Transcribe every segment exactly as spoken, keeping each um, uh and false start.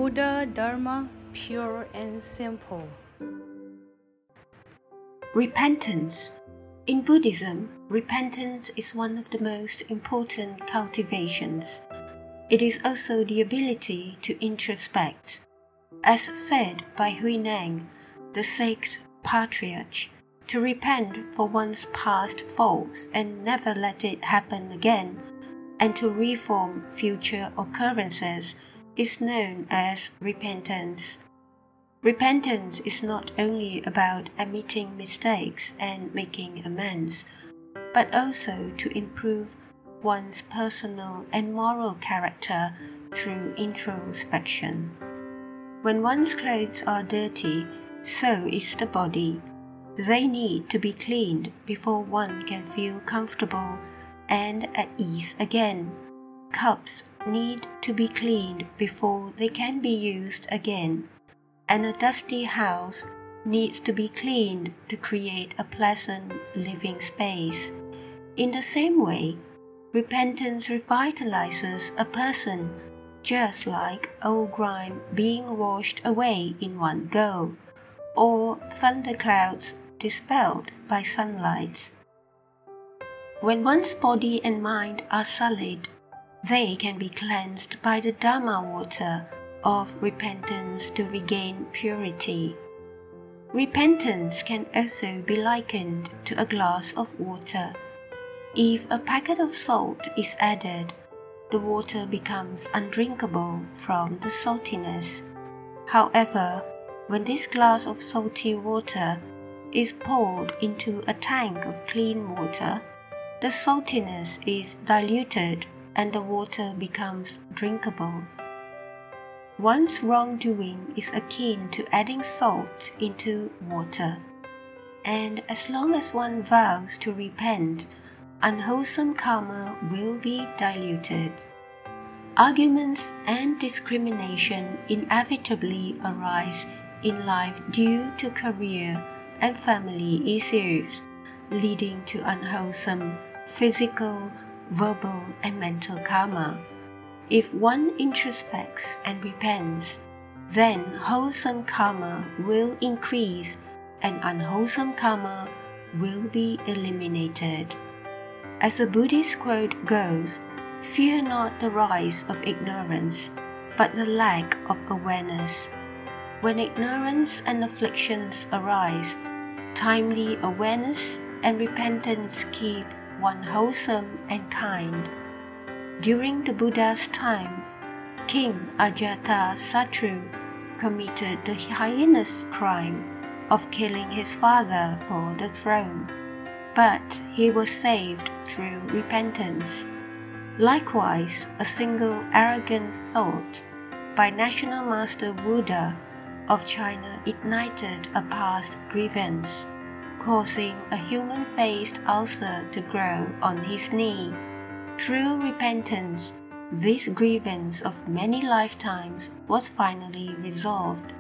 Buddha Dharma, pure and simple. Repentance. In Buddhism, repentance is one of the most important cultivations. It is also the ability to introspect. As said by Huineng, the sixth patriarch, to repent for one's past faults and never let it happen again, and to reform future occurrences is known as repentance. Repentance is not only about admitting mistakes and making amends, but also to improve one's personal and moral character through introspection. When one's clothes are dirty, so is the body. They need to be cleaned before one can feel comfortable and at ease again. Cups need to be cleaned before they can be used again, and a dusty house needs to be cleaned to create a pleasant living space. In the same way, repentance revitalizes a person, just like old grime being washed away in one go, or thunderclouds dispelled by sunlight. When one's body and mind are sullied, they can be cleansed by the Dharma water of repentance to regain purity. Repentance can also be likened to a glass of water. If a packet of salt is added, the water becomes undrinkable from the saltiness. However, when this glass of salty water is poured into a tank of clean water, the saltiness is diluted and the water becomes drinkable. One's wrongdoing is akin to adding salt into water, and as long as one vows to repent, unwholesome karma will be diluted. Arguments and discrimination inevitably arise in life due to career and family issues, leading to unwholesome physical, verbal, and mental karma. If one introspects and repents, then wholesome karma will increase and unwholesome karma will be eliminated. As a Buddhist quote goes, "Fear not the rise of ignorance, but the lack of awareness." When ignorance and afflictions arise, timely awareness and repentance keep one wholesome and kind. During the Buddha's time, King Ajatasattu committed the heinous crime of killing his father for the throne, but he was saved through repentance. Likewise, a single arrogant thought by National Master Buddha of China ignited a past grievance, causing a human-faced ulcer to grow on his knee. Through repentance, this grievance of many lifetimes was finally resolved.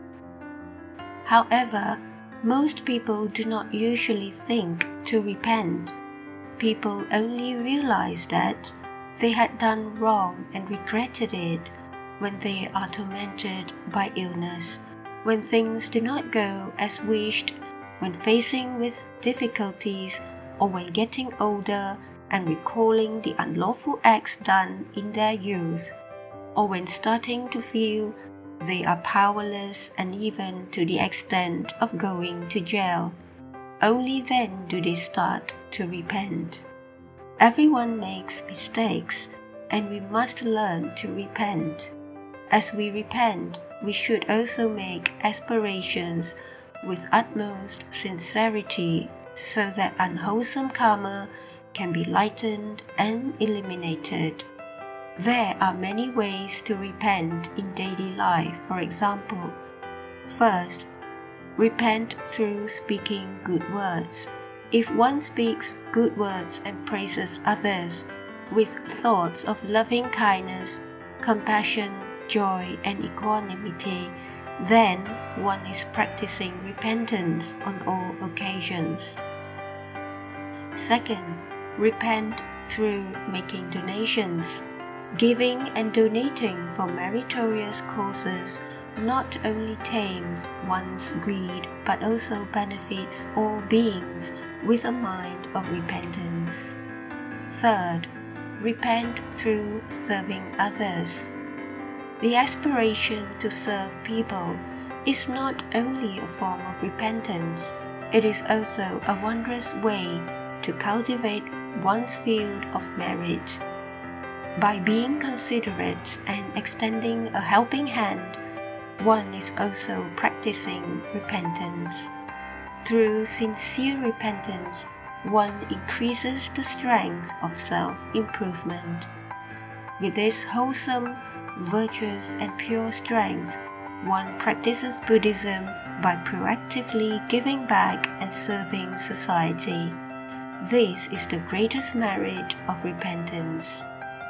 However, most people do not usually think to repent. People only realize that they had done wrong and regretted it when they are tormented by illness, when things do not go as wished, when facing with difficulties, or when getting older and recalling the unlawful acts done in their youth, or when starting to feel they are powerless and even to the extent of going to jail. Only then do they start to repent. Everyone makes mistakes, and we must learn to repent. As we repent, we should also make aspirations with utmost sincerity so that unwholesome karma can be lightened and eliminated. There are many ways to repent in daily life. For example, first, repent through speaking good words. If one speaks good words and praises others with thoughts of loving kindness, compassion, joy, and equanimity, then one is practicing repentance on all occasions. Second, repent through making donations. Giving and donating for meritorious causes not only tames one's greed but also benefits all beings with a mind of repentance. Third, repent through serving others. The aspiration to serve people is not only a form of repentance, it is also a wondrous way to cultivate one's field of merit. By being considerate and extending a helping hand, one is also practicing repentance. Through sincere repentance, one increases the strength of self-improvement. With this wholesome, virtuous, and pure strength, one practices Buddhism by proactively giving back and serving society. This is the greatest merit of repentance.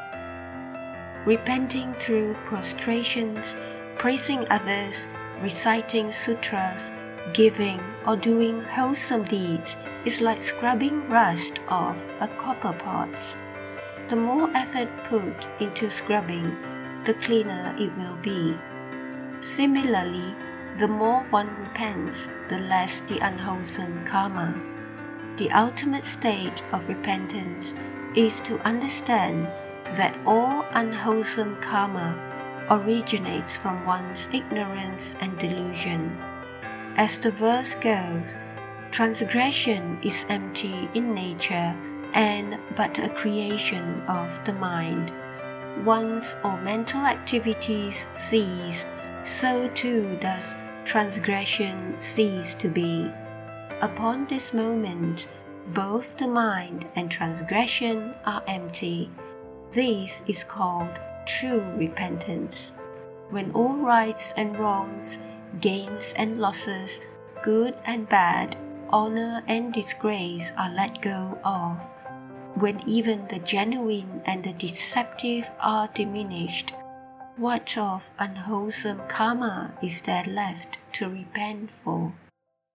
Repenting through prostrations, praising others, reciting sutras, giving or doing wholesome deeds is like scrubbing rust off a copper pot. The more effort put into scrubbing, the cleaner it will be. Similarly, the more one repents, the less the unwholesome karma. The ultimate state of repentance is to understand that all unwholesome karma originates from one's ignorance and delusion. As the verse goes, transgression is empty in nature and but a creation of the mind. Once all mental activities cease, so too does transgression cease to be. Upon this moment, both the mind and transgression are empty. This is called true repentance. When all rights and wrongs, gains and losses, good and bad, honor and disgrace are let go of, when even the genuine and the deceptive are diminished, what of unwholesome karma is there left to repent for?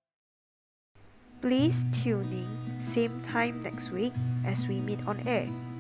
Please tune in, same time next week as we meet on air.